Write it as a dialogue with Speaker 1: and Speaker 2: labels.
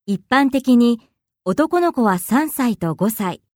Speaker 1: 一般的に男の子は3歳と5歳、